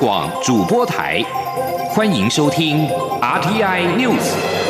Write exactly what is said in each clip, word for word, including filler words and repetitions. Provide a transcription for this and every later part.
广主播台，欢迎收听 R T I News。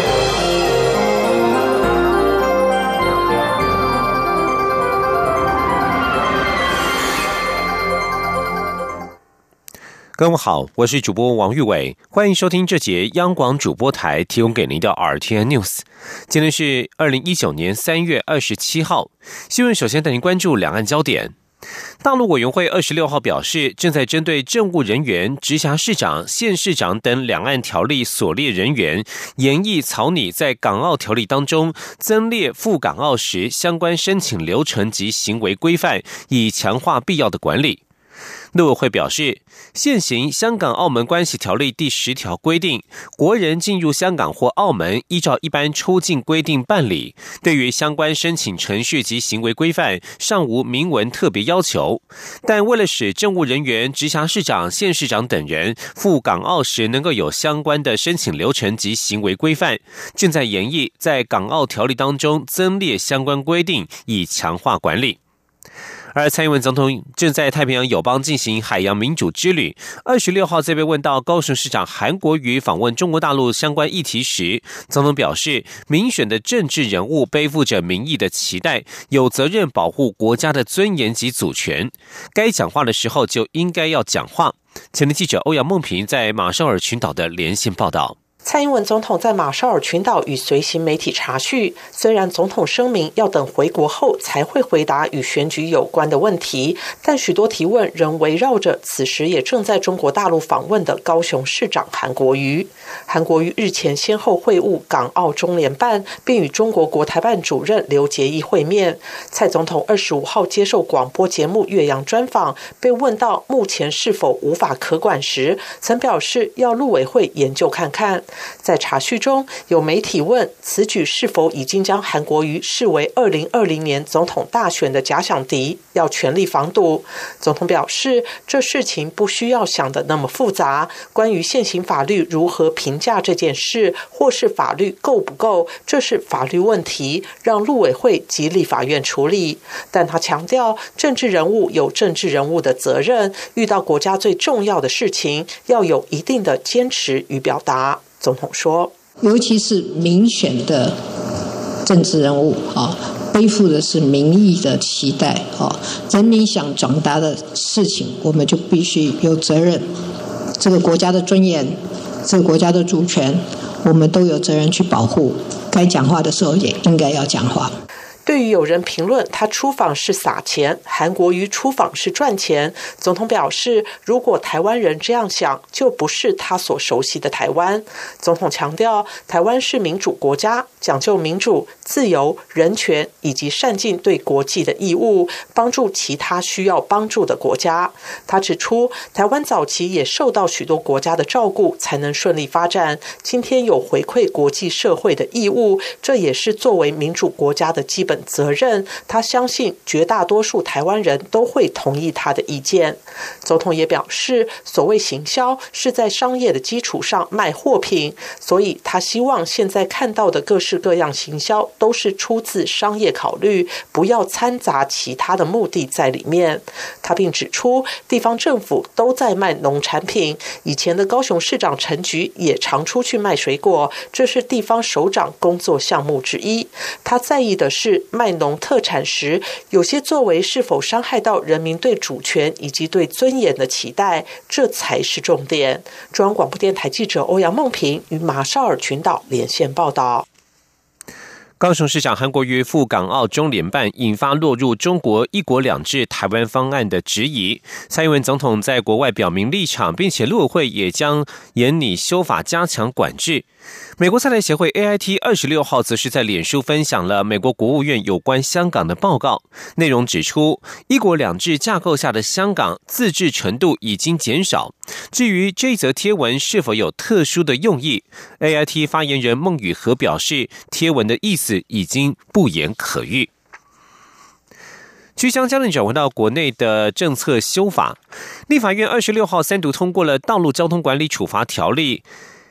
各位好，我是主播王玉伟，欢迎收听这节央广主播台提供给您的 R T I News。今天是二零一九年三月二十七号，新闻首先带您关注两岸焦点。大陆委员会二十六号表示，正在针对政务人员、直辖市长、县市长等两岸条例所列人员，研议草拟在港澳条例当中增列赴港澳时相关申请流程及行为规范，以强化必要的管理。陆委会表示，现行香港澳门关系条例第十条规定，国人进入香港或澳门依照一般出境规定办理，对于相关申请程序及行为规范尚无明文特别要求。但为了使政务人员、直辖市长、县市长等人赴港澳时能够有相关的申请流程及行为规范，正在研议在港澳条例当中增列相关规定，以强化管理。而蔡英文总统正在太平洋友邦进行海洋民主之旅。二十六号在被问到高雄市长韩国瑜访问中国大陆相关议题时，总统表示，民选的政治人物背负着民意的期待，有责任保护国家的尊严及主权，该讲话的时候就应该要讲话。前天记者欧阳梦平在马绍尔群岛的连线报道。 蔡英文总统在马绍尔群岛与随行媒体查叙，虽然总统声明要等回国后才会回答与选举有关的问题，但许多提问仍围绕着此时也正在中国大陆访问的高雄市长韩国瑜。韩国瑜日前先后会晤港澳中联办，并与中国国台办主任刘捷一会面。蔡总统二十五号接受广播节目岳阳专访，被问到目前是否无法可管时，曾表示要陆委会研究看看。在查叙中，有媒体问此举是否已经将韩国瑜视为二零二零年总统大选的假想敌，要全力防堵。总统表示，这事情不需要想得那么复杂，关于现行法律如何评价这件事，或是法律够不够，这是法律问题，让陆委会及立法院处理。但他强调，政治人物有政治人物的责任，遇到国家最重要的事情，要有一定的坚持与表达。总统说， 尤其是民选的政治人物啊，背负的是民意的期待啊，人民想转达的事情，我们就必须有责任。这个国家的尊严，这个国家的主权，我们都有责任去保护。该讲话的时候也应该要讲话。 对于有人评论他出访是撒钱，韩国瑜出访是赚钱，总统表示，如果台湾人这样想，就不是他所熟悉的台湾。总统强调，台湾是民主国家，讲究民主、自由、人权以及善尽对国际的义务，帮助其他需要帮助的国家。他指出，台湾早期也受到许多国家的照顾，才能顺利发展，今天有回馈国际社会的义务，这也是作为民主国家的基本责任。他相信绝大多数台湾人都会同意他的意见。总统也表示，所谓行销是在商业的基础上卖货品，所以他希望现在看到的各式各样行销都是出自商业考虑，不要掺杂其他的目的在里面。他并指出，地方政府都在卖农产品，以前的高雄市长陈菊也常出去卖水果，这是地方首长工作项目之一。他在意的是卖农特产时，有些作为是否伤害到人民对主权以及对尊严的期待，这才是重点。中央广播电台记者欧阳梦平与马绍尔群岛连线报道。 高雄市长韩国瑜赴港澳中联办，引发落入中国一国两制台湾方案的质疑。蔡英文总统在国外表明立场，并且陆委会也将研拟修法加强管制。美国在台协会 A I T 二十六号则是在脸书分享了美国国务院有关香港的报告，内容指出，一国两制架构下的香港自治程度已经减少。至于这则贴文是否有特殊的用意， A I T 发言人孟宇和表示，贴文的意思已经不言可喻。据将焦点转回到国内的政策修法，立法院二十六号三读通过了《道路交通管理处罚条例》。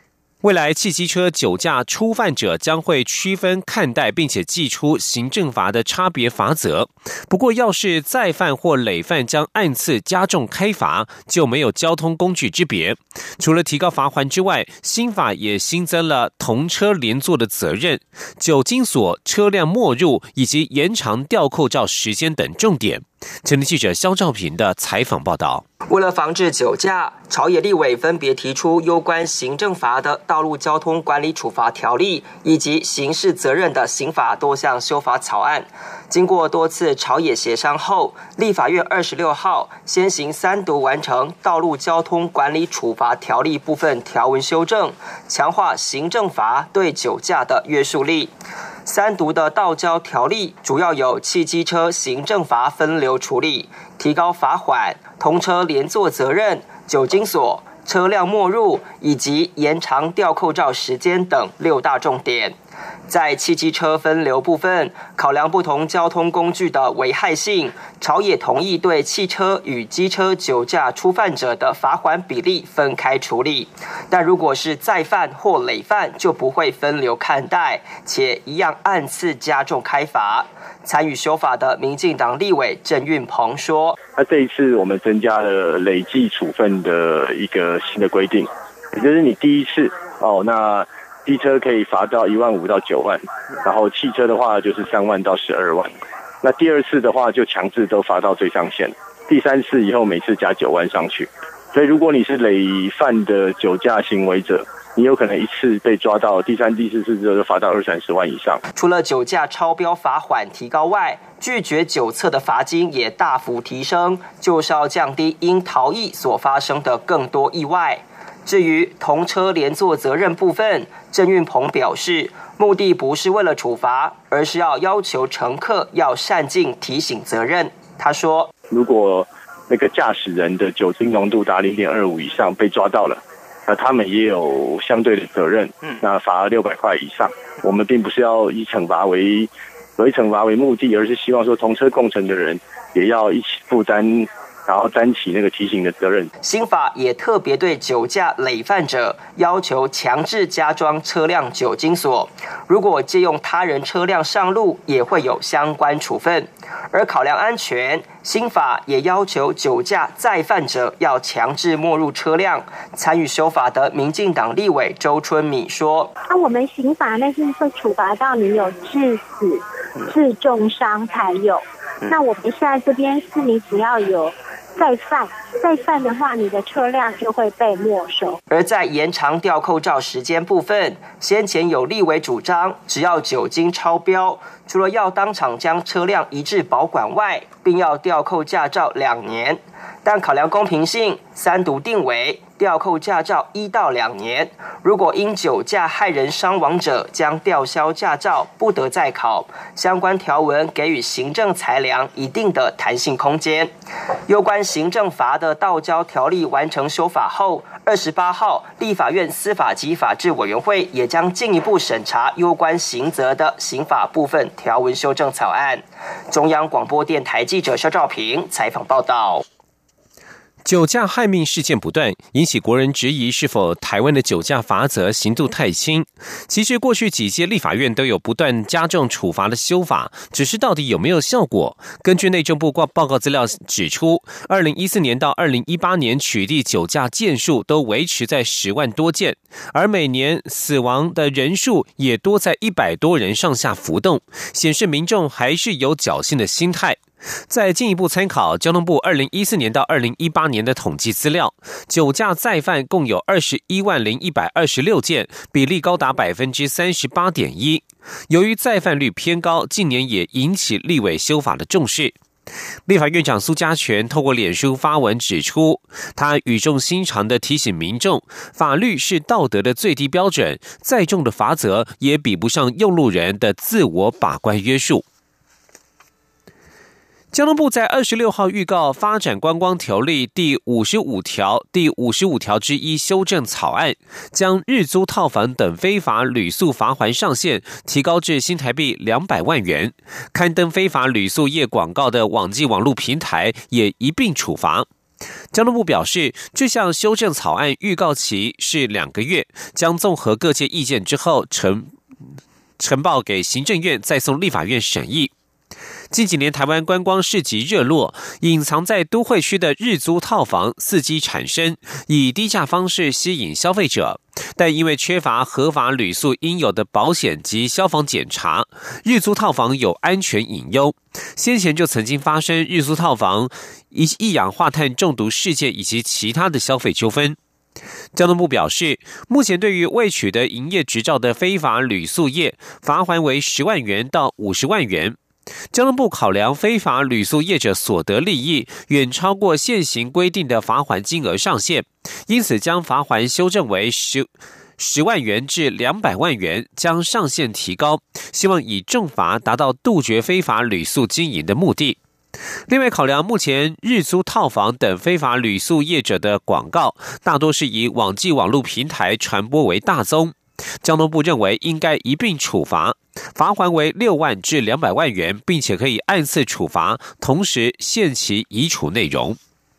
未来汽机车酒驾初犯者将会区分看待，并且祭出行政罚的差别罚则。不过，要是再犯或累犯，将按次加重开罚，就没有交通工具之别。除了提高罚锾之外，新法也新增了同车连坐的责任、酒精锁、车辆没入以及延长吊扣照时间等重点。前天记者肖兆平的采访报道。 为了防治酒驾，朝野立委分别提出有关行政罚的道路交通管理处罚条例以及刑事责任的刑法多项修法草案。经过多次朝野协商后，立法院二十六号先行三读完成道路交通管理处罚条例部分条文修正，强化行政罚对酒驾的约束力。三读的道交条例主要有汽机车行政罚分流处理、提高罚锾、同车连坐责任、酒精锁、车辆没入以及延长吊扣照时间等六大重点。在汽机车分流部分，考量不同交通工具的危害性，朝野同意对汽车与机车酒驾初犯者的罚锾比例分开处理。但如果是再犯或累犯，就不会分流看待，且一样按次加重开罚。参与修法的民进党立委郑运鹏说：“ 那这一次我们增加了累计处分的一个新的规定，也就是你第一次哦，那机车可以罚到一万五到九万，然后汽车的话就是三万到十二万。那第二次的话就强制都罚到最上限，第三次以后每次加九万上去。所以如果你是累犯的酒驾行为者，你有可能一次被抓到，第三、第四次之后就罚到二三十万以上。 除了酒驾超标罚锾提高外，拒绝酒测的罚金也大幅提升，就是要降低因逃逸所发生的更多意外。至于同车连坐责任部分，郑运鹏表示，目的不是为了处罚，而是要要求乘客要善尽提醒责任。他说， 如果那个驾驶人的酒精浓度达 零点二五 以上被抓到了，那他们也有相对的责任，那罚六百块以上。我们并不是要以惩罚为以惩罚为目的，而是希望说同车共乘的人也要一起负担，然后担起那个提醒的责任。 新法也特别对酒驾累犯者要求强制加装车辆酒精锁，如果借用他人车辆上路，也会有相关处分。而考量安全，新法也要求酒驾再犯者要强制没入车辆。参与修法的民进党立委周春米说：“ 那、啊、我们刑法那是会处罚到你有致死、致重伤才有。那我们现在这边是你只要有再犯，再犯的话，你的车辆就会被没收。” 而在延长吊扣照时间部分，先前有立委主张，只要酒精超标，除了要当场将车辆移至保管外，并要吊扣驾照两年。但考量公平性，三读定为吊扣驾照一到两年，如果因酒驾害人伤亡者，将吊销驾照，不得再考。相关条文给予行政裁量一定的弹性空间。有关行政罚的道交条例完成修法后，二十八号立法院司法及法制委员会也将进一步审查有关刑责的刑法部分条文修正草案。中央广播电台记者肖兆平采访报道。 酒驾害命事件不断，引起国人质疑是否台湾的酒驾罚则刑度太轻。其实过去几届立法院都有不断加重处罚的修法，只是到底有没有效果？根据内政部报告资料指出，二零一四年到二零一八年取缔酒驾件数都维持在十万多件，而每年死亡的人数也多在一百多人上下浮动，显示民众还是有侥幸的心态。再进一步参考交通部二零一四年到二零一八年的统计资料，酒驾再犯共有二十一万零一百二十六件，比例高达 百分之三十八点一。由于再犯率偏高，近年也引起立委修法的重视。立法院长苏嘉全透过脸书发文指出，他语重心长地提醒民众，法律是道德的最低标准，再重的罚则也比不上用路人的自我把关约束。交通部在二十六号预告发展观光条例第五十五条第五十五条之一修正草案，将日租套房等非法旅宿罚锾上限提高至新台币两百万元，刊登非法旅宿业广告的网际网络平台也一并处罚。 交通部表示，这项修正草案预告期是两个月，将综合各界意见之后呈呈报给行政院，再送立法院审议。近几年台湾观光市集热络，隐藏在都会区的日租套房伺机产生，以低价方式吸引消费者，但因为缺乏合法旅宿应有的保险及消防检查，日租套房有安全隐忧。先前就曾经发生日租套房一一氧化碳中毒事件以及其他的消费纠纷。交通部表示，目前对于未取得营业执照的非法旅宿业，罚锾为十万元到五十万元。交通部考量非法旅宿业者所得利益远超过现行规定的罚锾金额上限，因此将罚锾修正为十十万元至两百万元，将上限提高，希望以重罚达到杜绝非法旅宿经营的目的。另外，考量目前日租套房等非法旅宿业者的广告大多是以网际网络平台传播为大宗，交通部认为应该一并处罚，罚锾为六万至两百万元，并且可以按次处罚，同时限期移除内容。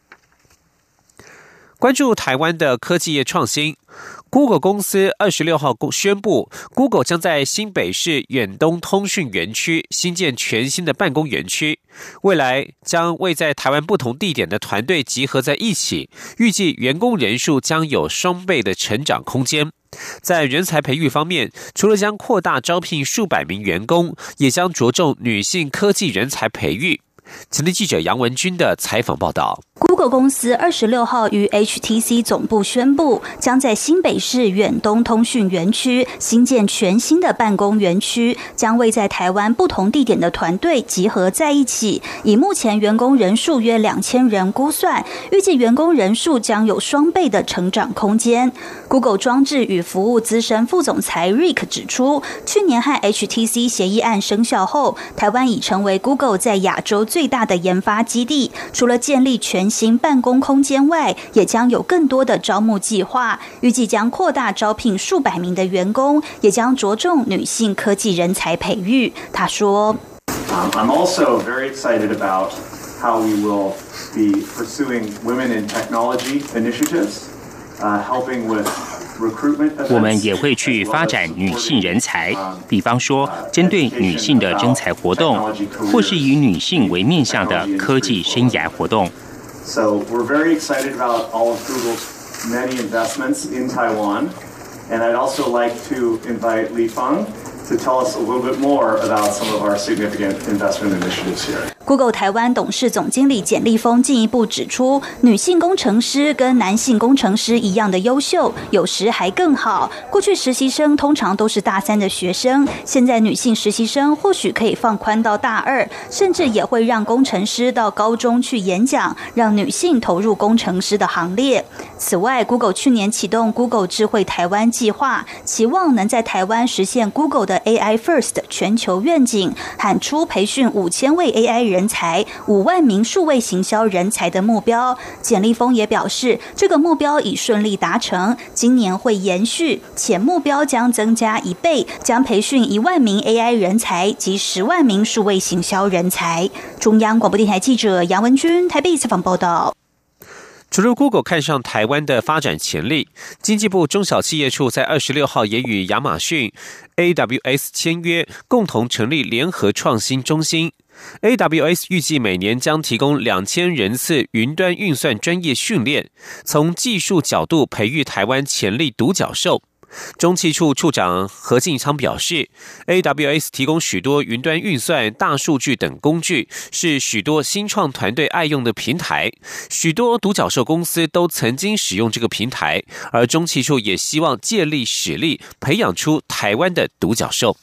关注台湾的科技业创新， Google 公司二十六号宣布 ，Google 将在新北市远东通讯园区新建全新的办公园区，未来将为在台湾不同地点的团队集合在一起，预计员工人数将有双倍的成长空间。在人才培育方面，除了将扩大招聘数百名员工，也将着重女性科技人才培育。前天记者杨文君的采访报道。 Google 公司二十六号于 H T C 总部宣布，将在新北市远东通讯园区新建全新的办公园区，将为在台湾不同地点的团队集合在一起。以目前员工人数约两千人估算，预计员工人数将有双倍的成长空间。Google 装置与服务资深副总裁 Rick 指出，去年和 H T C 协议案生效后，台湾已成为 Google 在亚洲最大的研发基地。除了建立全新办公空间外，也将有更多的招募计划，预计将扩大招聘数百名的员工，也将着重女性科技人才培育。他说 um, I'm also very excited about how we will be pursuing women in technology initiatives, uh, helping with recruitment events. 我们也会去发展女性人才，比方说针对女性的征才活动，或是以女性为面向的科技生涯活动。 So we're very excited about all of Google's many investments in Taiwan, and I'd also like to invite Li Feng to tell us a little bit more about some of our significant investment initiatives here. Google 台湾董事总经理简立峰进一步指出，女性工程师跟男性工程师一样的优秀，有时还更好。过去实习生通常都是大三的学生，现在女性实习生或许可以放宽到大二，甚至也会让工程师到高中去演讲，让女性投入工程师的行列。此外 ，Google 去年启动 Google 智慧台湾计划，期望能在台湾实现 Google 的 A I First 全球愿景，喊出培训五千位 A I 人才、五万名数位行销人才的目标。简立峰也表示，这个目标已顺利达成，今年会延续，且目标将增加一倍，将培训一万名 A I 人才及十万名数位行销人才。中央广播电台记者杨文君台北采访报道。 除了 Google 看上台湾的发展潜力，经济部中小企业处在二十六号也与亚马逊 A W S 签约，共同成立联合创新中心。A W S 预计每年将提供两千人次云端运算专业训练，从技术角度培育台湾潜力独角兽。中企处处长何进昌表示 ，A W S 提供许多云端运算、大数据等工具，是许多新创团队爱用的平台。许多独角兽公司都曾经使用这个平台，而中企处也希望借力使力，培养出台湾的独角兽。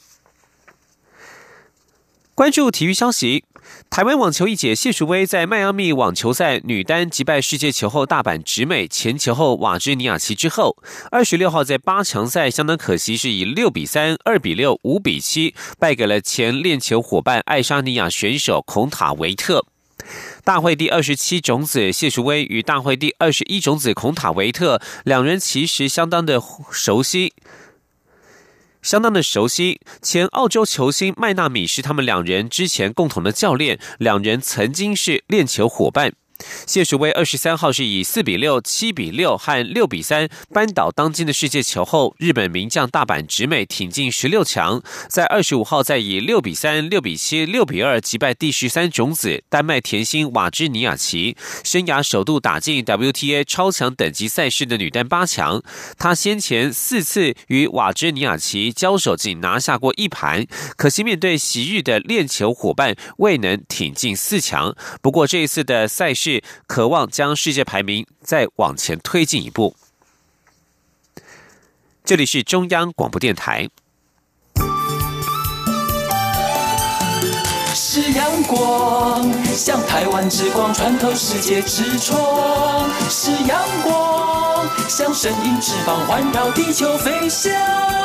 关注体育消息，台湾网球一姐谢淑薇在迈阿密网球赛女单击败世界球后大阪直美前球后瓦芝尼亚奇之后，二十六号在八强赛相当可惜是以六比三、二比六、五比七败给了前练球伙伴爱沙尼亚选手孔塔维特。大会第二十七种子谢淑薇与大会第二十一种子孔塔维特两人其实相当的熟悉。相当的熟悉，前澳洲球星麦纳米是他们两人之前共同的教练，两人曾经是练球伙伴。 谢淑薇二十三号是以四比六、七比六和六比三扳倒当今的世界球后日本名将大阪直美，挺进十六强。在二十五号再以六比三、六比七、六比二击败第十三种子丹麦甜心瓦芝尼亚奇，生涯首度打进 W T A 超强等级赛事的女单八强。她先前四次与瓦芝尼亚奇交手仅拿下过一盘，可惜面对昔日的练球伙伴未能挺进四强。不过这一次的赛事渴望将世界排名再往前推进一步。这里是中央广播电台。 是阳光，像台湾之光穿透世界之窗；是阳光，像神鹰翅膀环绕地球飞翔。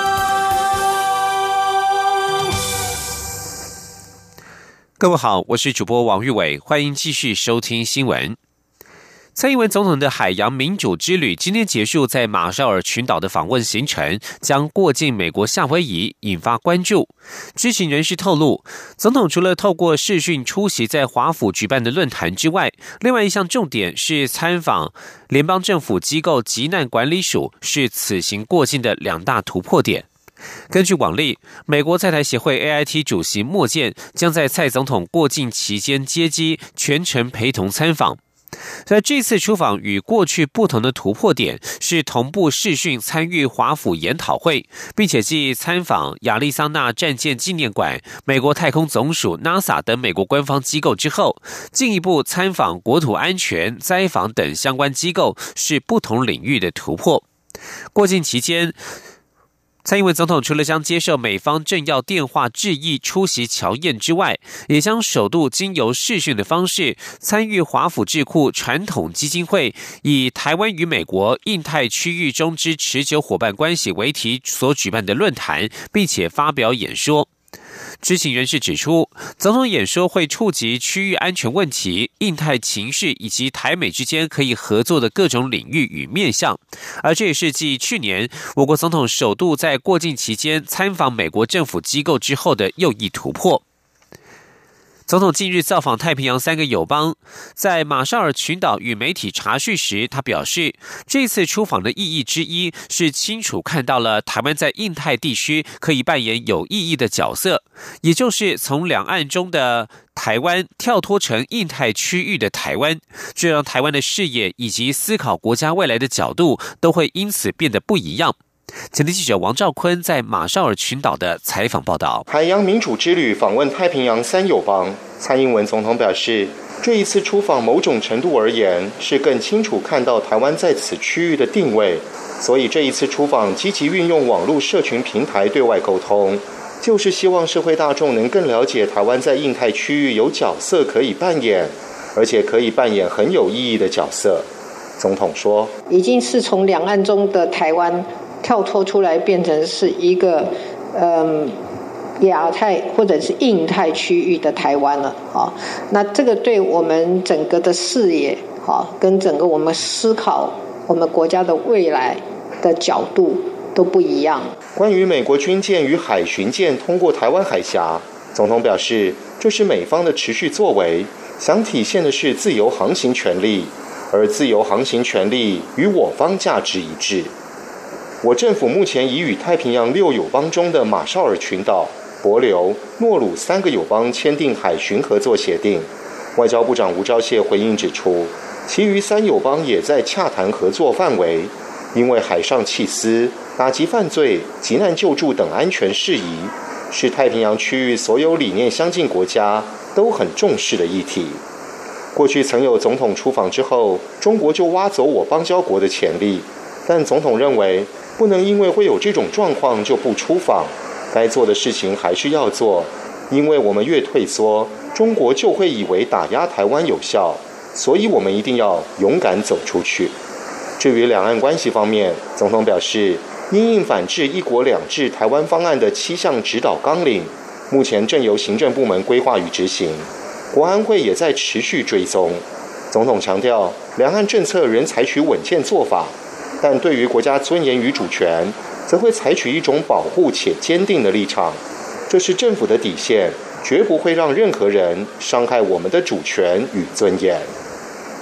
各位好，我是主播王玉伟，欢迎继续收听新闻。蔡英文总统的海洋民主之旅今天结束，在马绍尔群岛的访问行程将过境美国夏威夷，引发关注。知情人士透露，总统除了透过视讯出席在华府举办的论坛之外，另外一项重点是参访联邦政府机构急难管理署，是此行过境的两大突破点。根据往例，美国在台协会 A I T 主席莫健将在蔡总统过境期间接机，全程陪同参访。在这次出访与过去不同的突破点是同步视讯参与华府研讨会，并且继参访亚利桑那战舰纪念馆、美国太空总署 NASA 等美国官方机构之后，进一步参访国土安全、灾防等相关机构，是不同领域的突破。过境期间，蔡英文总统除了将接受美方政要电话致意出席侨宴之外，也将首度经由视讯的方式参与华府智库传统基金会以台湾与美国印太区域中之持久伙伴关系为题所举办的论坛，并且发表演说。知情人士指出，总统演说会触及区域安全问题、印太情势以及台美之间可以合作的各种领域与面向，而这也是继去年我国总统首度在过境期间参访美国政府机构之后的又一突破。总统近日造访太平洋三个友邦，在马绍尔群岛与媒体查叙时，他表示，这次出访的意义之一是清楚看到了台湾在印太地区可以扮演有意义的角色，也就是从两岸中的台湾跳脱成印太区域的台湾，这让台湾的视野以及思考国家未来的角度都会因此变得不一样。前天记者王兆坤在马绍尔群岛的采访报道。 海洋民主之旅访问太平洋三友邦，蔡英文总统表示，这一次出访某种程度而言是更清楚看到台湾在此区域的定位，所以这一次出访积极运用网络社群平台对外沟通，就是希望社会大众能更了解台湾在印太区域有角色可以扮演，而且可以扮演很有意义的角色。总统说， 已经是从两岸中的台湾跳脱出来，变成是一个嗯亚太或者是印太区域的台湾了啊。那这个对我们整个的视野啊，跟整个我们思考我们国家的未来的角度都不一样。 关于美国军舰与海巡舰通过台湾海峡，总统表示，这是美方的持续作为，想体现的是自由航行权利，而自由航行权利与我方价值一致。我政府目前已与太平洋六友邦中的马绍尔群岛、帛琉、诺鲁三个友邦签订海巡合作协定。外交部长吴钊燮回应指出，其余三友邦也在洽谈合作范围，因为海上缉私、打击犯罪、急难救助等安全事宜，是太平洋区域所有理念相近国家都很重视的议题。过去曾有总统出访之后，中国就挖走我邦交国的潜力，但总统认为，不能因为会有这种状况就不出访，该做的事情还是要做，因为我们越退缩，中国就会以为打压台湾有效，所以我们一定要勇敢走出去。至于两岸关系方面，总统表示，因应反制一国两制台湾方案的七项指导纲领，目前正由行政部门规划与执行，国安会也在持续追踪。总统强调，两岸政策仍采取稳健做法，但对于国家尊严与主权，则会采取一种保护且坚定的立场，这是政府的底线，绝不会让任何人伤害我们的主权与尊严。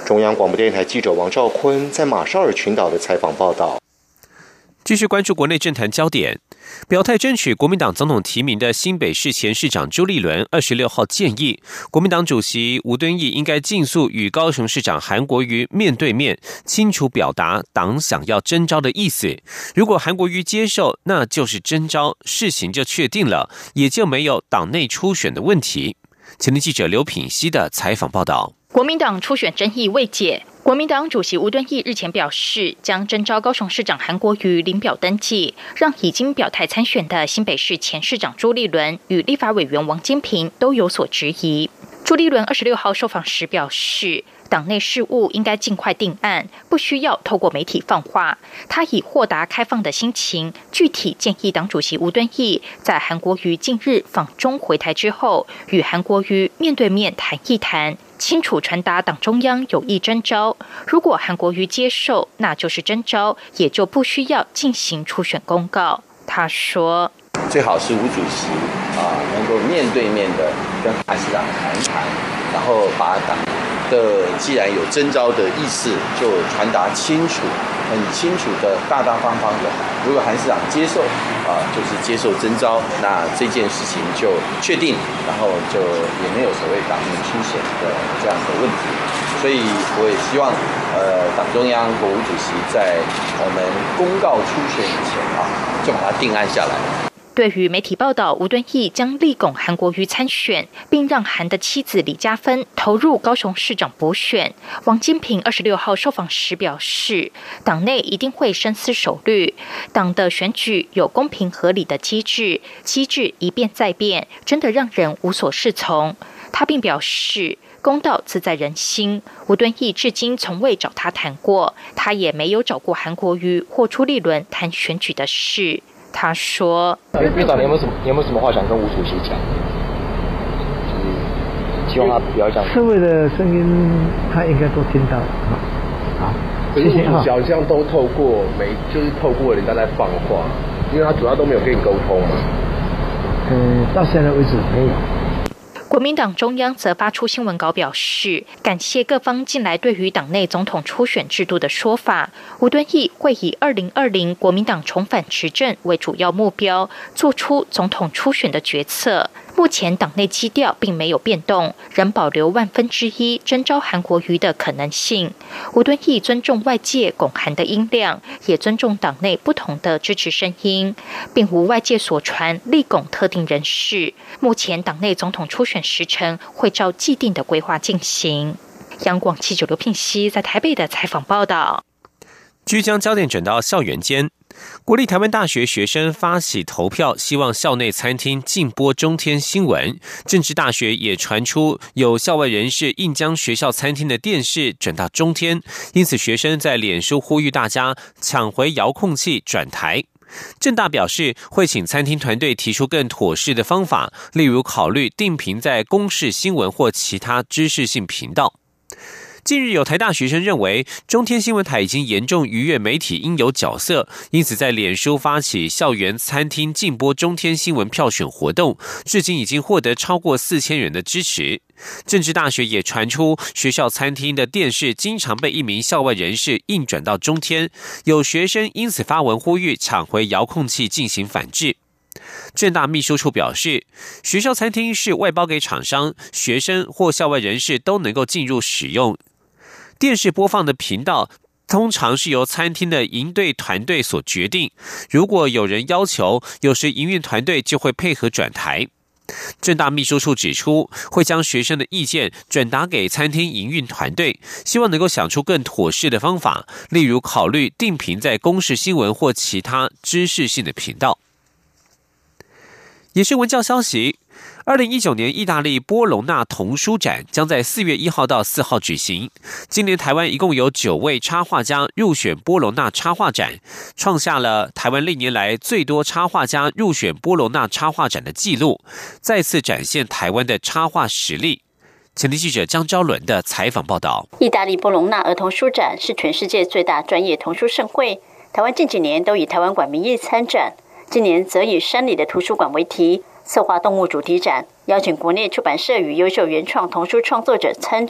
中央广播电台记者王兆坤在马绍尔群岛的采访报道。 继续关注国内政坛焦点，表态争取国民党总统提名的新北市前市长朱立伦二十六号建议，国民党主席吴敦义应该尽速与高雄市长韩国瑜面对面，清楚表达党想要征召的意思。如果韩国瑜接受，那就是征召，事情就确定了，也就没有党内初选的问题。前天记者刘品希的采访报道。 国民党初选争议未解，国民党主席吴敦义日前表示，将征召高雄市长韩国瑜领表登记，让已经表态参选的新北市前市长朱立伦与立法委员王金平都有所质疑。朱立伦二十六号受访时表示，党内事务应该尽快定案，不需要透过媒体放话。他以豁达开放的心情，具体建议党主席吴敦义在韩国瑜近日访中回台之后，与韩国瑜面对面谈一谈，清楚传达党中央有意征召。如果韩国瑜接受，那就是征召，也就不需要进行初选公告。他说， 最好是吴主席啊能够面对面的跟韩市长谈谈，然后把党的既然有征召的意思，就传达清楚，很清楚的大大方方的。如果韩市长接受啊，就是接受征召，那这件事情就确定，然后就也没有所谓党内初选的这样的问题。所以我也希望，呃，党中央国务主席在我们公告初选以前啊，就把它定案下来。 对于媒体报道吴敦义将力拱韩国瑜参选，并让韩的妻子李嘉芬投入高雄市长补选，王金平二十六号受访时表示，党内一定会深思熟虑，党的选举有公平合理的机制，机制一变再变，真的让人无所适从。他并表示，公道自在人心，吴敦义至今从未找他谈过，他也没有找过韩国瑜或朱立伦谈选举的事。他说：“ 院长，你有没有什么，你有没有什么话想跟吴主席讲？就是希望他不要这样。 社会的声音，他应该都听到。好， 可是吴主席好像都透过媒，就是透过人家在放话，因为他主要都没有跟你沟通嘛。 嗯，到现在为止没有。” 国民党中央则发出新闻稿表示，感谢各方近来对于党内总统初选制度的说法。吴敦义会以二零二零国民党重返执政为主要目标，做出总统初选的决策。目前党内基调并没有变动，仍保留万分之一征召韩国瑜的可能性。吴敦义尊重外界拱韩的音量，也尊重党内不同的支持声音，并无外界所传力拱特定人士。目前党内总统初选时程会照既定的规划进行。央广记者刘聘熙在台北的采访报道。 据将焦点转到校园间，国立台湾大学学生发起投票，希望校内餐厅禁播中天新闻。政治大学也传出有校外人士硬将学校餐厅的电视转到中天，因此学生在脸书呼吁大家抢回遥控器转台。政大表示会请餐厅团队提出更妥适的方法，例如考虑定频在公视新闻或其他知识性频道。近日有台大学生认为中天新闻台已经严重逾越媒体应有角色，因此在脸书发起校园餐厅禁播中天新闻票选活动，至今已经获得超过四千人的支持。政治大学也传出学校餐厅的电视经常被一名校外人士硬转到中天，有学生因此发文呼吁抢回遥控器进行反制。政大秘书处表示，学校餐厅是外包给厂商，学生或校外人士都能够进入使用。电视播放的频道通常是由餐厅的营队团队所决定，如果有人要求，有时营运团队就会配合转台。政大秘书处指出，会将学生的意见转达给餐厅营运团队，希望能够想出更妥适的方法，例如考虑定频在公视新闻或其他知识性的频道。也是文教消息，二零一九年意大利波隆纳童书展将在四月一号到四号举行。今年台湾一共有九位插画家入选波隆纳插画展，创下了台湾历年来最多插画家入选波隆纳插画展的纪录，再次展现台湾的插画实力。前天记者江昭伦的采访报道。 意大利波隆纳儿童书展是全世界最大专业童书盛会，台湾近几年都以台湾馆名义参展，今年则以山里的图书馆为题，策划动物主题展，邀请国内出版社与优秀原创童书创作者参展。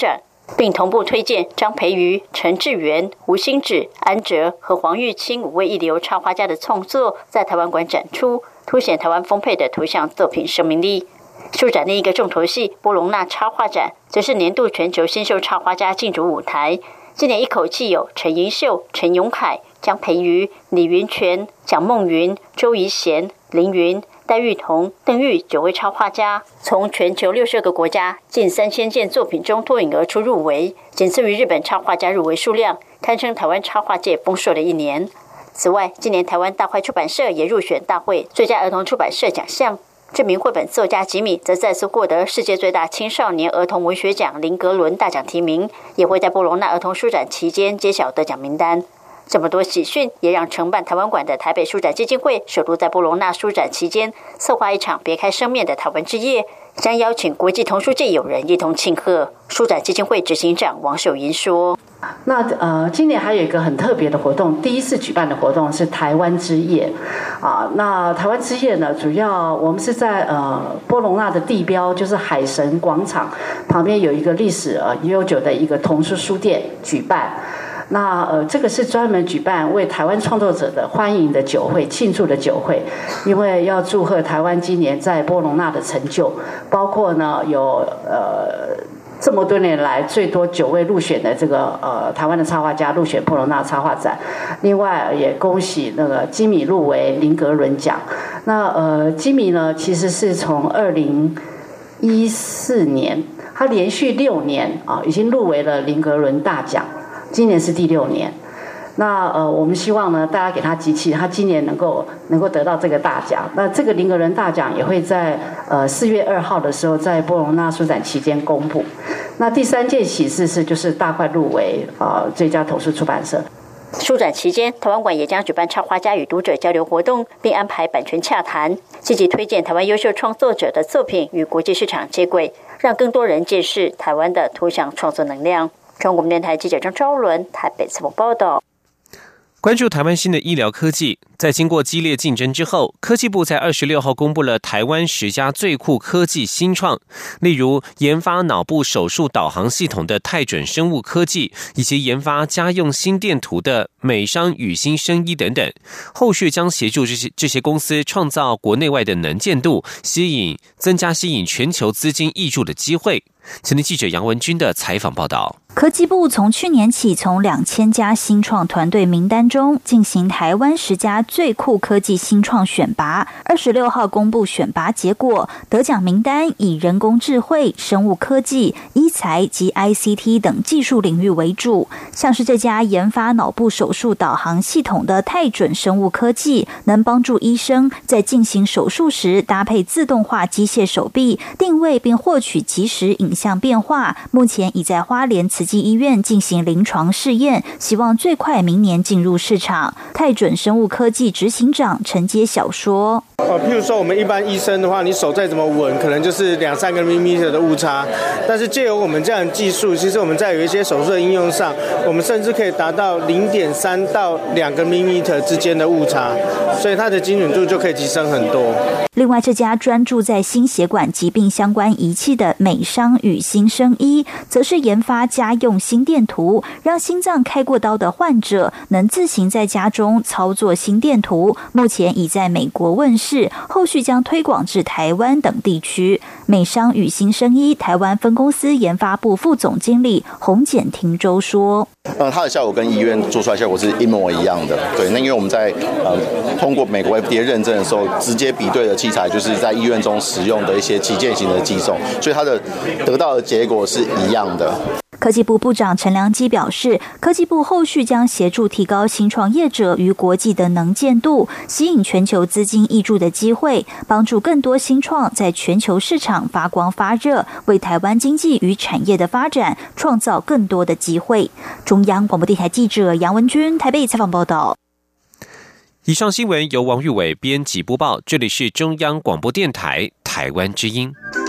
并同步推荐张培瑜、陈志源、吴兴芷、安哲和黄玉清五位一流插画家的创作在台湾馆展出，凸显台湾丰沛的图像作品生命力。书展另一个重头戏波隆纳插画展，则是年度全球新秀插画家竞逐舞台。今年一口气有陈盈秀、陈永凯、江培瑜、李云泉、蒋梦云、周怡贤、林云、戴玉彤、邓玉九位插画家，从全球六十个国家近三千件作品中脱颖而出入围，仅次于日本插画家入围数量，堪称台湾插画界丰硕的一年。此外，今年台湾大块出版社也入选大会最佳儿童出版社奖项。知名绘本作家吉米则再次获得世界最大青少年儿童文学奖林格伦大奖提名，也会在波隆纳儿童书展期间揭晓得奖名单。这么多喜讯，也让承办台湾馆的台北书展基金会首度在波隆纳书展期间策划一场别开生面的台湾之夜，将邀请国际童书界友人一同庆贺。书展基金会执行长王守银说： 那呃，今年还有一个很特别的活动，第一次举办的活动是台湾之夜啊。那台湾之夜呢，主要我们是在呃波隆纳的地标，就是海神广场旁边有一个历史呃悠久的一个童书书店举办。那呃，这个是专门举办为台湾创作者的欢迎的酒会、庆祝的酒会，因为要祝贺台湾今年在波隆纳的成就，包括呢有呃。这么多年来，最多九位入选的这个呃台湾的插画家入选波隆纳插画展，另外也恭喜那个基米入围林格伦奖。那呃基米呢，其实是从二零一四年，他连续六年啊、呃、已经入围了林格伦大奖，今年是第六年。那呃，我们希望呢，大家给他集气，他今年能够能够得到这个大奖。那这个林格伦大奖也会在呃四月二号的时候，在波隆纳书展期间公布。那第三件喜事是就是大块入围呃最佳童书出版社。 书展期间，台湾馆也将举办插画家与读者交流活动，并安排版权洽谈，积极推荐台湾优秀创作者的作品与国际市场接轨，让更多人见识台湾的图像创作能量。中国电台记者张昭伦台北采访报道。 关注台湾新的医疗科技，在经过激烈竞争之后，科技部在二十六号公布了台湾十家最酷科技新创，例如研发脑部手术导航系统的泰准生物科技，以及研发家用心电图的美商宇新生医等等。后续将协助这些这些公司创造国内外的能见度，吸引增加吸引全球资金挹注的机会。前天记者杨文君的采访报道。 科技部从去年起，从两千家新创团队名单中进行台湾十家最酷科技新创选拔。二十六号公布选拔结果，得奖名单以人工智慧、生物科技、医材及 I C T 等技术领域为主。像是这家研发脑部手术导航系统的泰准生物科技，能帮助医生在进行手术时搭配自动化机械手臂，定位并获取即时影像变化。目前已在花莲慈济医院进行临床试验，希望最快明年进入市场。泰准生物科技执行长陈杰晓说： 哦，譬如说我们一般医生的话，你手再怎么稳，可能就是两三个 millimeter 的误差。但是借由我们这样的技术，其实我们在有一些手术的应用上，我们甚至可以达到零点三到两个 millimeter 之间的误差，所以它的精准度就可以提升很多。 另外，这家专注在心血管疾病相关仪器的美商宇新生医，则是研发家用心电图，让心脏开过刀的患者能自行在家中操作心电图。目前已在美国问世，后续将推广至台湾等地区。美商宇新生医台湾分公司研发部副总经理洪简廷洲说： 呃，它的效果跟医院做出来的效果是一模一样的。对，那因为我们在呃通过美国 F D A 认证的时候，直接比对的器材就是在医院中使用的一些旗舰型的机种，所以它的得到的结果是一样的。 科技部部长陈良基表示，科技部后续将协助提高新创业者与国际的能见度，吸引全球资金挹注的机会，帮助更多新创在全球市场发光发热，为台湾经济与产业的发展创造更多的机会。中央广播电台记者杨文君台北采访报道。 以上新闻由王玉伟编辑播报，这里是中央广播电台台湾之音。